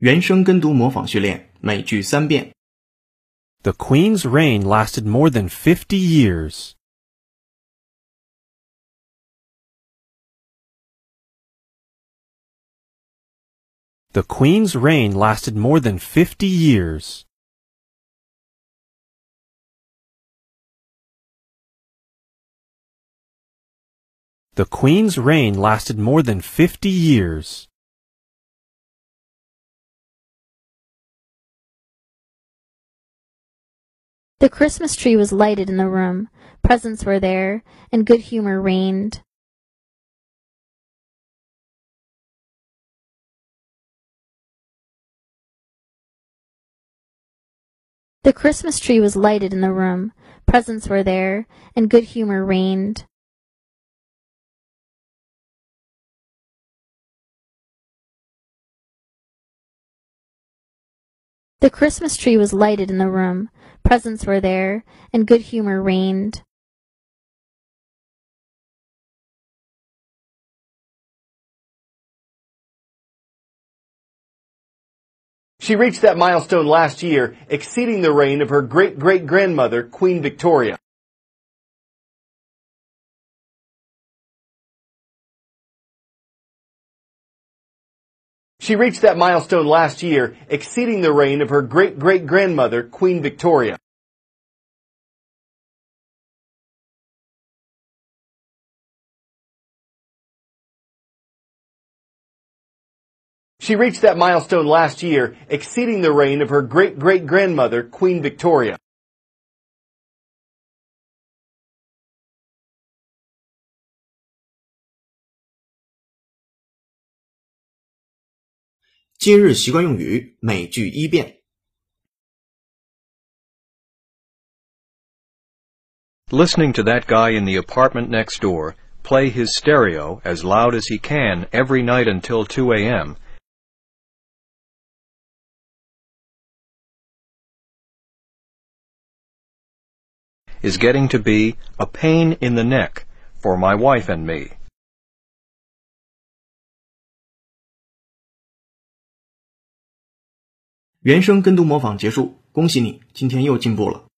原声跟读模仿训练，每句3遍。 The Queen's reign lasted more than 50 years. The Queen's reign lasted more than 50 years. The Queen's reign lasted more than 50 years. The Christmas tree was lighted in the room, presents were there, and good humor reigned. The Christmas tree was lighted in the room, presents were there, and good humor reigned. The Christmas tree was lighted in the room, presents were there, and good humor reigned. She reached that milestone last year, exceeding the reign of her great-great-grandmother, Queen Victoria. She reached that milestone last year, exceeding the reign of her great-great-grandmother, Queen Victoria. She reached that milestone last year, exceeding the reign of her great-great-grandmother, Queen Victoria. 今日习惯用语，每句1遍。 Listening to that guy in the apartment next door play his stereo as loud as he can every night until 2 a.m. is getting to be a pain in the neck for my wife and me. 原声跟读模仿结束，恭喜你，今天又进步了。